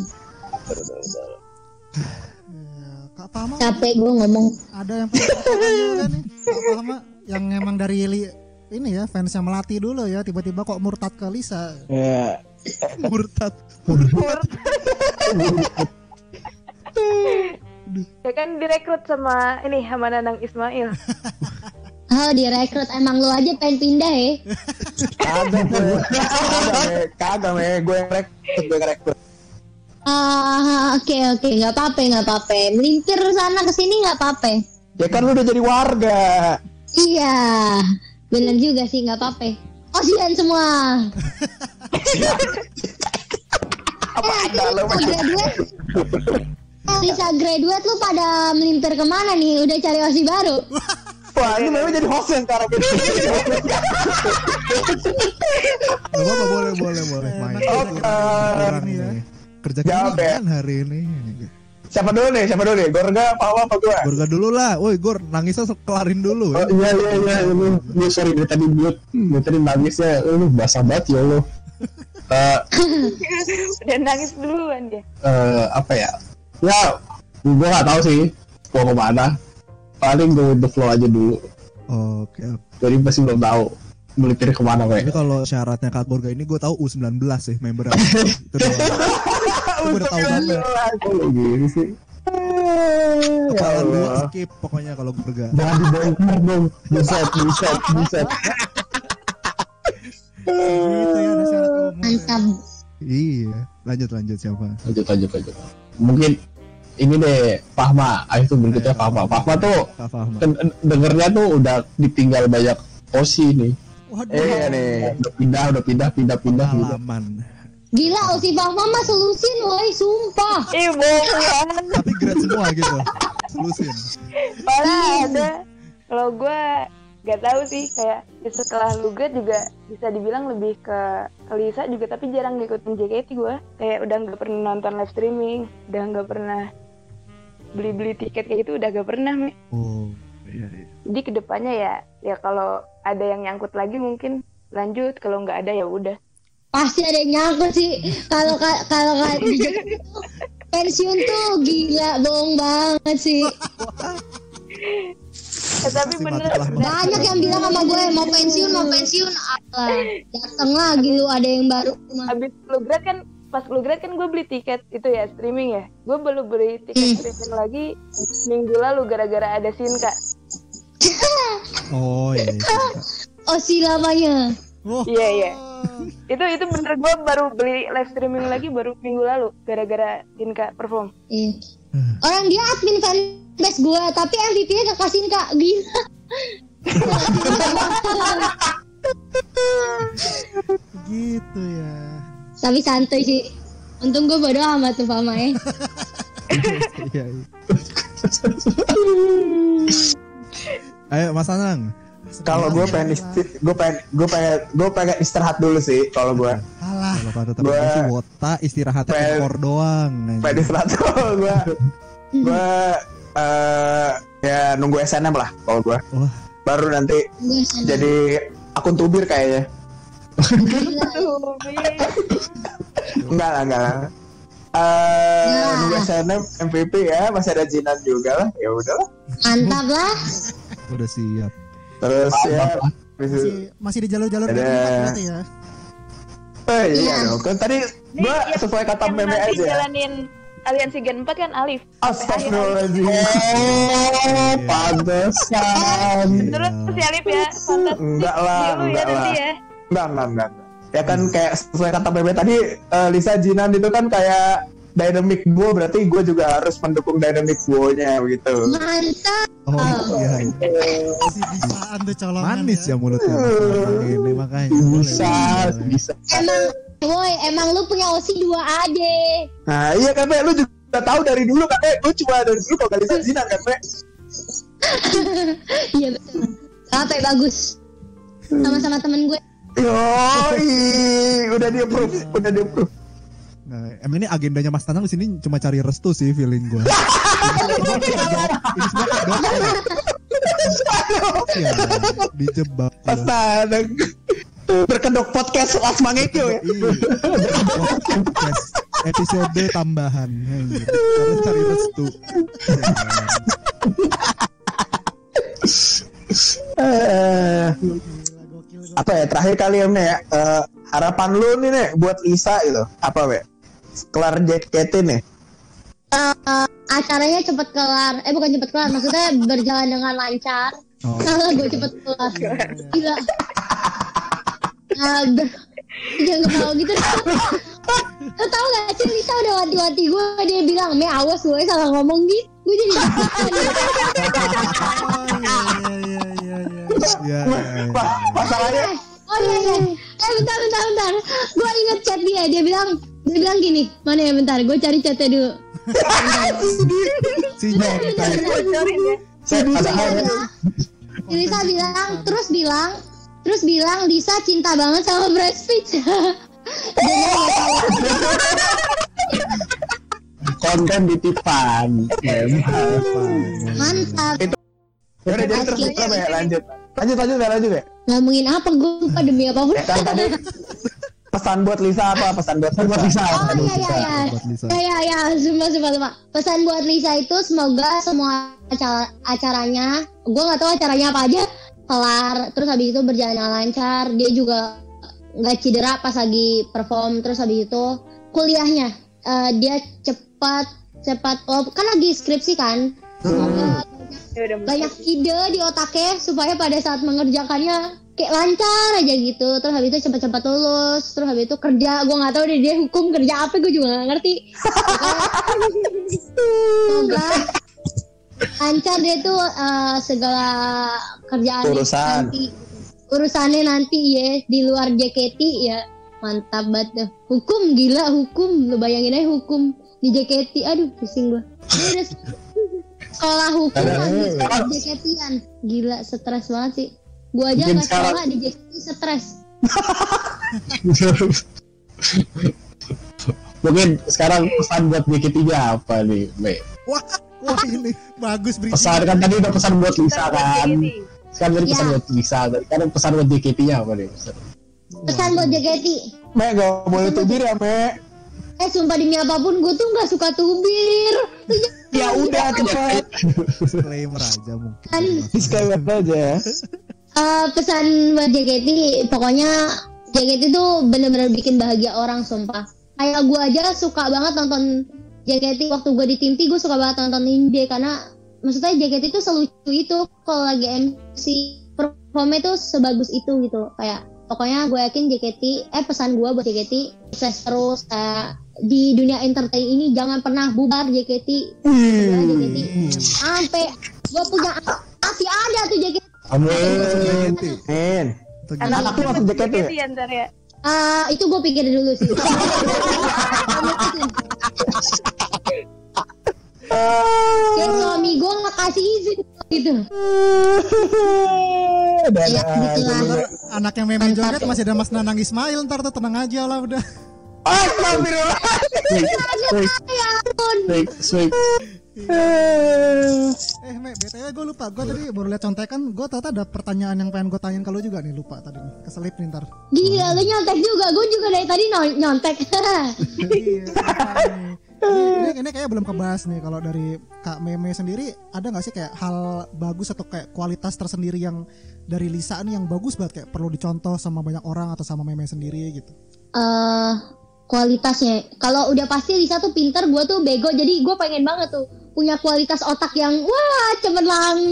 Kak Fahma, capek gue ngomong. Ada yang juga nih, Kak Fahma, yang emang dari ini ya fansnya Melati dulu ya, tiba-tiba kok murtad ke Lisa. Iya. Murtad. Ya kan direkrut sama Nanang Ismail. Oh, direkrut, emang lu aja pengen pindah ya? Kagak, Me, gue yang rekrut. Oke, nggak apa-apa. Melintir sana kesini nggak apa-apa. Ya kan lu udah jadi warga. Iya, bener juga sih, nggak apa-apa. Kasihan semua. Apa ada lo? Lisa graduate lu pada melimpir kemana nih? Udah cari OSI baru? Wah, ini memang jadi host yang sekarang ini. Boleh main. Kerja kan hari ini. Siapa dulu nih? Gorga apa gua? Gorga dulu lah. Woi, Gor, nangisnya kelarin dulu ya. Iya. Lu sorry dari tadi mute. Tadi nangisnya lu basah banget ya lu. Udah nangis duluan dia. Apa ya? Ya, gua nggak tahu sih mau kemana. Paling go with the flow aja dulu. Oke. Jadi masih belum tahu melipir kemana gue. Tapi kalau syaratnya Kak Gorga ini gue tahu U19 sih member. Itu doang. Gue udah tahu banget. Oh gini sih. Kepala dua skip pokoknya kalau Gorga. Jangan dibongkar dong. Buset. Gitu ya, ada syarat umum. Mantap. Iya. Lanjut siapa? Lanjut. Mungkin ini deh Fahma. Itu berikutnya Fahma. Fahma tuh dengernya tuh udah ditinggal banyak OSI nih. Waduh. Nih. Udah pindah Pengalaman. Gila, OSI Fahma mah solusin, woi, sumpah. Bohong. Tapi grade semua gitu. Solusin. Malah ada. Kalau gue gak tahu sih, kayak setelah lu grade juga bisa dibilang lebih ke Lisa juga, tapi jarang ngikutin JKT gue. Kayak udah gak pernah nonton live streaming, udah gak pernah beli tiket kayak gitu, udah gak pernah, Me. Oh, iya. Jadi kedepannya ya kalau ada yang nyangkut lagi mungkin lanjut, kalau nggak ada ya udah. Pasti ada yang nyangkut sih. Kalau pensiun tuh gila, bohong banget sih. Tapi bener banyak yang bilang sama gue mau pensiun alah dateng lagi lu ada yang baru. Abis lu grad kan, pas lu grad kan gue beli tiket itu ya streaming ya. Gue belum beli tiket streaming lagi minggu lalu gara-gara ada Sinka. Oh iya. OSI lamanya. Iya. Itu bener, gue baru beli live streaming lagi baru minggu lalu gara-gara Sinka perform. Iya. Orang dia admin fanbase gue, tapi MVP-nya gak kasih Kak, gila. Gitu ya. Tapi santai sih. Untung gue bodo amat tuh Fama ya. Iya. Ayo Mas Anang. Kalau gue pengen istirahat dulu sih kalau gue. Alah. Kalau kata temen gue sih wota istirahatnya ekor doang. Pengen istirahat kalau gue ya nunggu SNM lah kalau gue. Baru nanti jadi akun tubir kayaknya. Enggak lah. Nunggu SNM MVP ya, masih ada Jinan juga lah. Ya udahlah. Mantap lah. Udah siap. Terus ya masih di jalur-jalur berarti ya. Iya dong. Kan tadi gua sesuai kata meme aja. Jalanin aliansi Gen 4 kan Alif. Astagfirullahaladzim. Pantesan. Terus si Alif ya, pantas. Enggak lah. Enggak. Ya kan kayak sesuai kata meme tadi, Lisa Jinan itu kan kayak dynamic duo, berarti gue juga harus mendukung dynamic duo-nya gitu. Mantap. Oh iya. Bisaan tuh colongan. Manis ya mulutnya. Ini makanya. Bisa. Emang lu punya OSI 2 ade. Nah iya kan, lu juga tahu dari dulu kan, gue cuma dari dulu kalau Lisa Jinan kan, Iya betul. Sampai bagus. Sama-sama temen gue. Yoi, udah di approve. Nah, emang ini agendanya Mas Tanang di sini cuma cari restu sih feeling gue. Ini semua ya, dijebak. Mas Tanang berkedok podcast Las Mangekyo ya. Podcast episode tambahan. Harus cari restu. Apa ya terakhir kali ya, harapan lu nih buat Lisa gitu apa kelar JKT nih? Acaranya cepet kelar, bukan cepet kelar, maksudnya berjalan dengan lancar. Kalau gue cepet kelar, gila. Jangan ketawa gitu. Lo tau gak sih Lisa udah wanti-wanti gue, dia bilang, "Me awas gue salah ngomong gitu." Gue jadi Iya. Masalahnya bentar. Gue inget chat dia bilang, Dia bilang gini, mana ya bentar, gue cari chatnya dulu. Lisa bilang Lisa cinta banget sama Brad Pitt. Konten titipan. Mantap. Udah jadi terus ya, lanjut ya. Ngomongin apa gue lupa demi apapun. Kan tadi pesan buat Lisa apa? Pesan buat Lisa. Oh iya. Sumpah. Pesan buat Lisa itu semoga semua acaranya, gue nggak tahu acaranya apa aja, kelar. Terus habis itu berjalan lancar. Dia juga nggak cedera pas lagi perform. Terus habis itu kuliahnya dia cepat. Oh, kan lagi skripsi kan. Semoga banyak ide di otaknya supaya pada saat mengerjakannya kayak lancar aja gitu. Terus habis itu cepat-cepat lulus. Terus habis itu kerja. Gue nggak tahu deh dia hukum kerja apa, gue juga nggak ngerti. Semoga lancar dia tuh segala kerjaan urusannya nanti ya di luar JKT ya. Mantap banget tuh. Hukum lu bayangin aja hukum di JKT. Aduh pusing gue. Sekolah hukum lagi JKT-an. Gila, stres banget sih. Gua aja nggak sekolah di JKT stres. Mungkin sekarang pesan buat JKT-nya apa nih, Be? Wah ini bagus berita. Pesan kan tadi udah pesan buat Lisa kan. Sekarang dari pesan buat Lisa. Sekarang pesan buat JKT-nya apa nih? Pesan buat JKT. Me, gak boleh tubir ya, Me. Sumpah demi apapun gue tuh gak suka tubir. Ya udah cepet. Disclaimer aja mungkin. Disclaimer aja. Pesan buat JKT, pokoknya JKT tuh bener-bener bikin bahagia orang, sumpah. Kayak gue aja suka banget nonton JKT waktu gue di Timti, gue suka banget nonton J karena maksudnya JKT tuh selucu itu kalau lagi MC, performnya tuh sebagus itu gitu. Kayak pokoknya gue yakin JKT, pesan gue buat JKT sukses terus di dunia entertain ini, jangan pernah bubar JKT. JKT sampai gue punya masih ada tuh JKT. Amin. Anakku masuk JKT ya ntar ya. Itu gue pikir dulu sih. Kayak suami gue nggak kasih izin gitu. Ya, anak yang meme joget masih ada Mas Nanang Ismail, ntar tuh tenang aja lah udah. Astagfirullah. Sweet. BTW gue lupa, gue tadi baru liat contekan, gue ternyata ada pertanyaan yang pengen gue tanyain ke lu juga nih, lupa tadi nih, keselip nih ntar. Gila, lu nyontek juga, gue juga dari tadi nyontek. Ini kayaknya belum kebahas nih. Kalau dari Kak Meme sendiri, ada nggak sih kayak hal bagus atau kayak kualitas tersendiri yang dari Lisa nih yang bagus banget kayak perlu dicontoh sama banyak orang atau sama Meme sendiri gitu? Kualitasnya, kalau udah pasti Lisa tuh pinter, gue tuh bego, jadi gue pengen banget tuh punya kualitas otak yang wah cemerlang.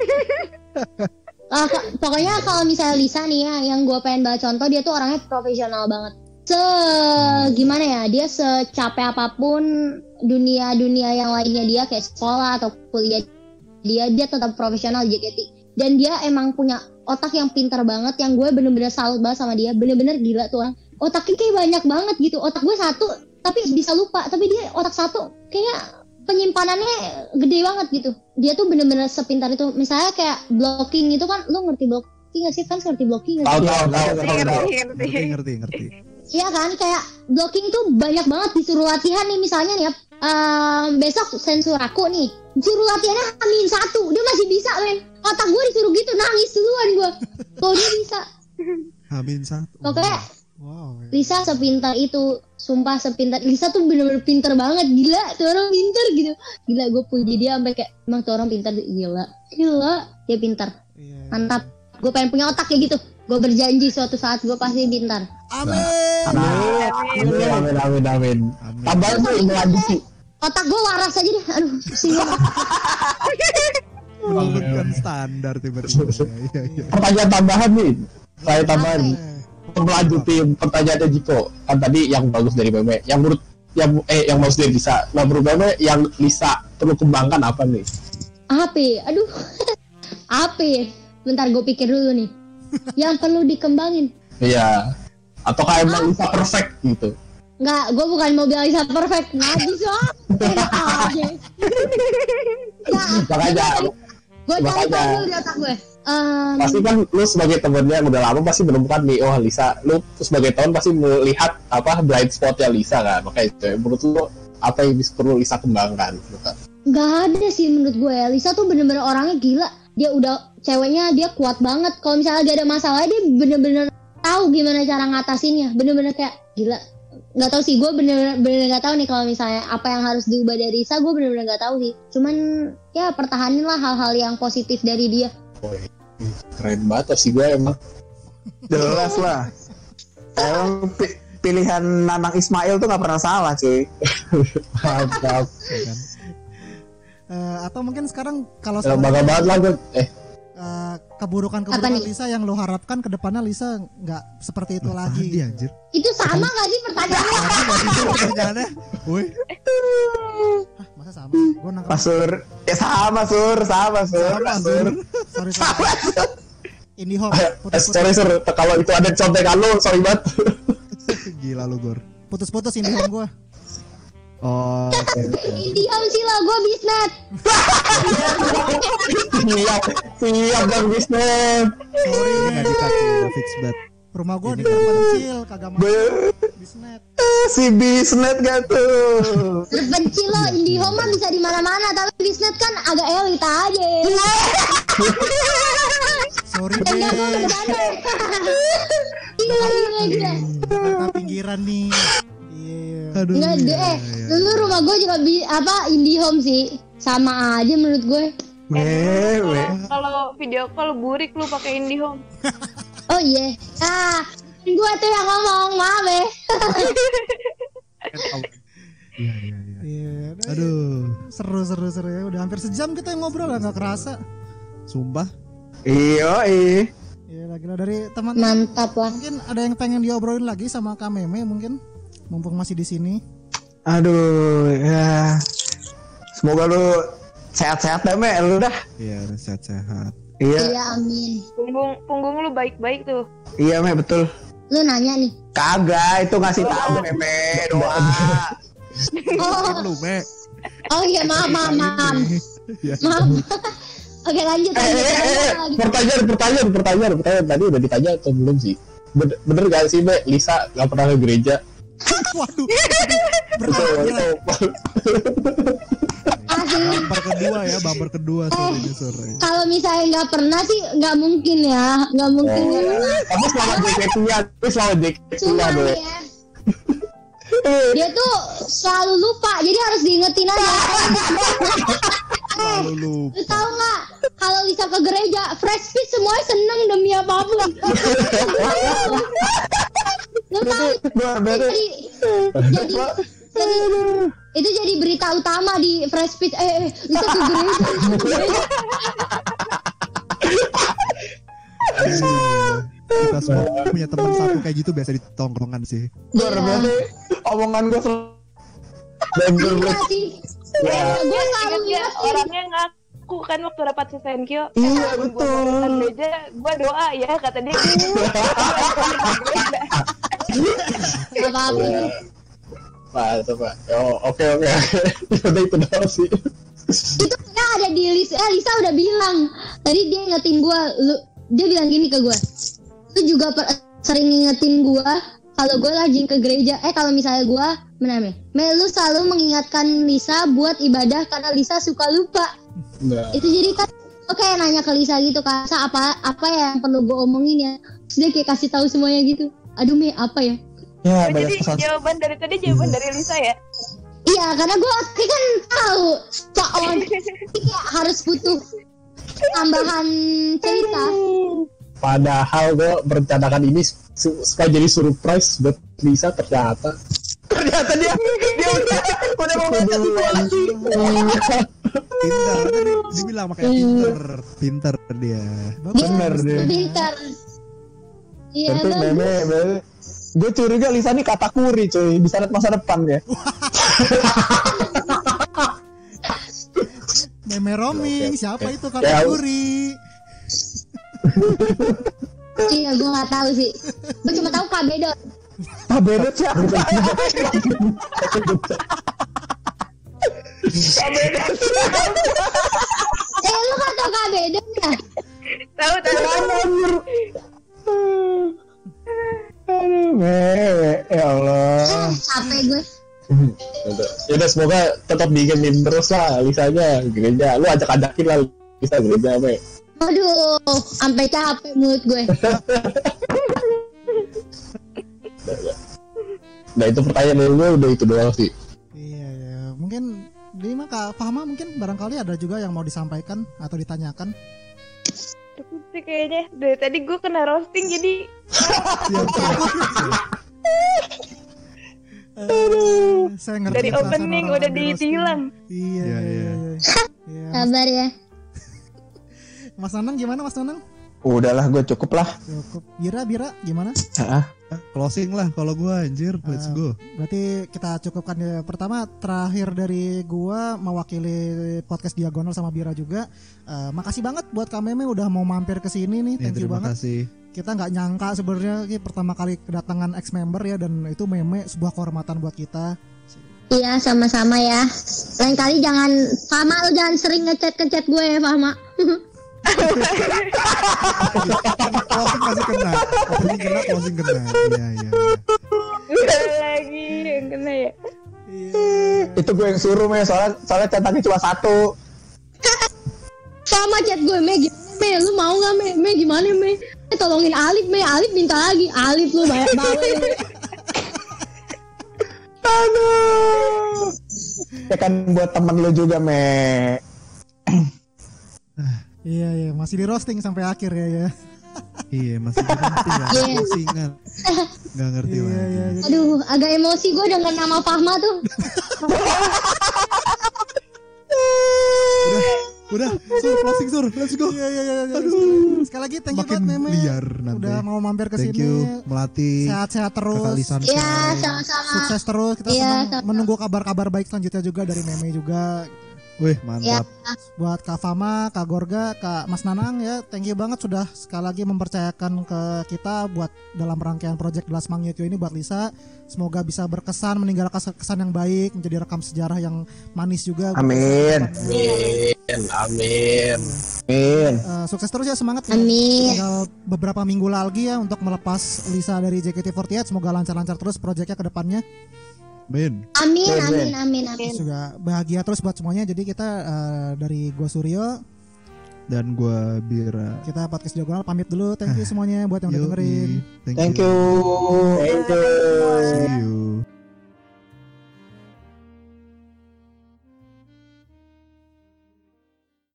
Pokoknya kalau misalnya Lisa nih ya, yang gue pengen banget contoh, dia tuh orangnya profesional banget. Gimana ya, dia secapek apapun dunia yang lainnya dia kayak sekolah atau kuliah, dia tetap profesional JKT. Dan dia emang punya otak yang pintar banget, yang gue bener-bener salut banget sama dia. Bener-bener gila tuh orang. Otaknya kayak banyak banget gitu. Otak gue satu tapi bisa lupa, tapi dia otak satu kayak penyimpanannya gede banget gitu. Dia tuh bener-bener sepintar itu. Misalnya kayak blocking itu kan, lu ngerti blocking gak sih? Kan ngerti blocking gak sih? Ngerti. Iya kan, kayak blocking tuh banyak banget disuruh latihan nih. Misalnya nih ya, besok sensuraku nih, disuruh latihannya H-1, dia masih bisa men. Otak gue disuruh gitu, nangis duluan gue. Kalau dia bisa H-1. Pokoknya Lisa sepintar itu, sumpah sepintar. Lisa tuh bener-bener pintar banget, gila tuh orang pintar gitu. Gila, gue puji dia sampai kayak emang tuh orang pintar, gila dia pintar. Mantap, gue pengen punya otak kayak gitu. Gue berjanji suatu saat gue pasti pintar. Amin. Tambahin tuh ini lagi sih. Otak gue waras aja deh. Aduh, pusing. Menurunkan standar tiba-tiba. Pertanyaan tambahan nih. Saya tambahan. Melanjutin pertanyaannya Jiko. Kan tadi yang bagus dari Meme, yang menurut yang bagus dari Lisa. Nah, menurut Meme yang Lisa perlu kembangkan apa nih? Aduh. Bentar gue pikir dulu nih. Yang perlu dikembangin. Iya. Atau kayak emang Lisa perfect gitu. Enggak, gue bukan mau bilang Lisa perfect. Najis loh. Enak aja. Makanya gue cari tahu di otak gue. Pasti kan lu sebagai temennya yang udah lama pasti menemukan nih, oh Lisa, lu sebagai teman pasti melihat apa blind spotnya Lisa kan. Makanya menurut lu apa yang perlu Lisa kembangkan gitu kan? Gak ada sih menurut gue ya. Lisa tuh bener-bener orangnya gila. Dia udah ceweknya, dia kuat banget. Kalau misalnya lagi ada masalah dia bener-bener tahu gimana cara ngatasinnya. Bener-bener kayak gila. Gak tahu sih, gue bener-bener gak tahu nih kalau misalnya apa yang harus diubah dari Lisa, gue bener-bener gak tahu sih. Cuman ya pertahanin lah hal-hal yang positif dari dia. Keren banget sih gue emang. Jelas lah. Emang pilihan Nanang Ismail tuh gak pernah salah cuy. Mantap. Atau mungkin sekarang kalau bangga banget lah gue. Keburukan Lisa yang lo harapkan ke depannya Lisa nggak seperti itu lagi. Anjir. Itu sama nggak sih pertanyaannya? Woi. Masa sama? Gue nangkep. Pasur. Ya sama sur. Sorry. IndiHome. Sorry sur, kalau itu ada contekan lo, sorry banget. Gila lu Gor. Putus-putus IndiHome gue. Oh, IndiHome sih lo, gue bisnet. Siap bang bisnet. Sorry nggak dikasih udah fix bet. Rumah gue di terpencil, kagak masuk bisnet. Si bisnet gak tuh? Terpencil lo, IndiHome mah bisa di mana-mana, tapi bisnet kan agak elit aja. Sorry deh. Gila. Karena pinggiran nih. Aduh. Nggak deh, dulu rumah gue juga IndiHome sih, sama aja menurut gue. Kalau video call burik lu pakai IndiHome. Oh iya, gue tuh yang ngomong, maaf ya. Iya. Aduh. Seru ya. Udah hampir sejam kita ngobrol lah, nggak kerasa. Sumpah. Iya. Iya, gila dari teman. Mantap lah. Mungkin ada yang pengen diobrolin lagi sama Kak Meme mungkin, mumpung masih di sini. Aduh, ya. Semoga lu sehat-sehat deh, Me, lu dah. Iya, sehat-sehat. Iya, amin. Punggung lu baik-baik tuh. Iya, Me, betul. Lu nanya nih. Kagak, itu ngasih tahu Meme doa. Lu, Me. Oh iya, maaf. Maaf. Oke, lanjut. Pertanyaan tadi udah ditanya atau belum sih? Bener gak sih, Me, Lisa gak pernah ke gereja? Waduh. Bumper kedua sore. Kalau misalnya nggak pernah sih nggak mungkin ya, nggak mungkin. Tapi selamat JKT-nya deh. Dia tuh selalu lupa, jadi harus diingetin aja. Lu tahu nggak? Kalau Lisa ke gereja, fresh speech semuanya seneng demi apapun. Lu tahu? Jadi itu jadi berita utama di fresh speech. Lisa ke gereja. Kita semua punya teman satu kayak gitu biasa di tongkrongan sih. Berarti omongan gue Iya sih. Gue selalu lihat orangnya ngaku kan waktu rapat Sesenkyo. Iya betul. Gue doa ya kata dia. Gak apa-apa. Pak. Oke. Udah itu doang sih. Itu ya ada di Lisa udah bilang. Tadi dia ingetin gue, dia bilang gini ke gue. Lu juga sering ngingetin gue kalau gue lagi ke gereja. Kalau misalnya gue lu selalu mengingatkan Lisa buat ibadah karena Lisa suka lupa. Nah. Itu jadi kan kayak nanya ke Lisa gitu kan, apa ya yang perlu gue omongin ya. Terus dia kayak kasih tahu semuanya gitu. Aduh Me, apa ya? Ya, jadi jawaban dari Lisa ya? Iya, karena gue kan tahu soal kayak harus butuh tambahan cerita. Padahal gue merencanakan ini supaya jadi surprise buat Lisa, ternyata dia udah mau ngajak gue lagi. Pintar, dia bilang makanya pintar dia. Bener deh. Pintar. Iya. Meme. Gue curiga Lisa nih katakuri cuy, bisa lihat masa depan ya. Meme roaming, siapa itu katakuri? Iya, gue nggak tahu sih. Gue cuma tahu KB dong. Kabedot siapa? Kabedot siapa? Lu kan tau Kabedot ya? Tahu. Aduh, ya Allah. Capek gue. Yaudah semoga tetap diingetin terus lah Lisanya gereja. Lu ajak-ajakin lah Lisa gereja me. Aduh, sampai capek mulut gue. Nah itu pertanyaan dari gue udah itu doang sih. Iya ya, mungkin di Kak Fahma mungkin barangkali ada juga yang mau disampaikan atau ditanyakan. Cukup sih kayaknya. Dari tadi gue kena roasting jadi. Saya ngerti dari opening udah ditilang. Iya. Sabar ya. Mas Nanang gimana Mas Nanang? Udahlah gue cukup lah. Cukup. Bira gimana? Closing lah kalau gue anjir, let's go. Berarti kita cukupkan ya. Pertama terakhir dari gua mewakili podcast Diagonal sama Bira juga. Makasih banget buat Kak Meme udah mau mampir ke sini nih. Thank you banget. Kasih. Kita nggak nyangka sebenarnya pertama kali kedatangan ex member ya, dan itu Meme sebuah kehormatan buat kita. Iya sama-sama ya. Lain kali jangan Fahma, lu jangan sering ngechat gue ya Fahma. Closing masih kena. Closing kena. Iya. Udah lagi yang kena ya. Itu gue yang suruh soalnya cetaknya cuma 1. Fahma chat gue, Me, lu mau nggak Me gimana Me? Tolongin Alif minta lagi. Alif lu banyak banget. Aduh. Ya kan buat temen lu juga Me. Iya, masih di roasting sampai akhir ya. Iya, masih di roasting lah. Roastingan. Gak ngerti lagi. Iya. Aduh, agak emosi gue dengan nama Fahma tuh. Udah, closing Sur, let's go. Iya. Aduh. Sekali lagi thank you banget Meme. Liar nanti. Udah mau mampir ke Thank sini. you, Melati. Sehat-sehat terus. Iya, sama-sama. Sukses terus. Kita senang menunggu kabar-kabar baik selanjutnya juga dari Meme juga. Wih, mantap. Buat Kak Fama, Kak Gorga, Kak Mas Nanang ya, thank you banget sudah sekali lagi mempercayakan ke kita buat dalam rangkaian project The Last Magneto ini buat Lisa. Semoga bisa berkesan, meninggalkan kesan yang baik, menjadi rekam sejarah yang manis juga. Amin. Sukses terus ya, semangat. Amin. Tinggal beberapa minggu lagi ya untuk melepas Lisa dari JKT48. Semoga lancar-lancar terus proyeknya ke depannya. Amin. Juga bahagia terus buat semuanya. Jadi kita dari gua Suryo dan gua Bira, kita podcast Diagonal pamit dulu. Thank you semuanya buat yang udah dengerin. Thank you. See you.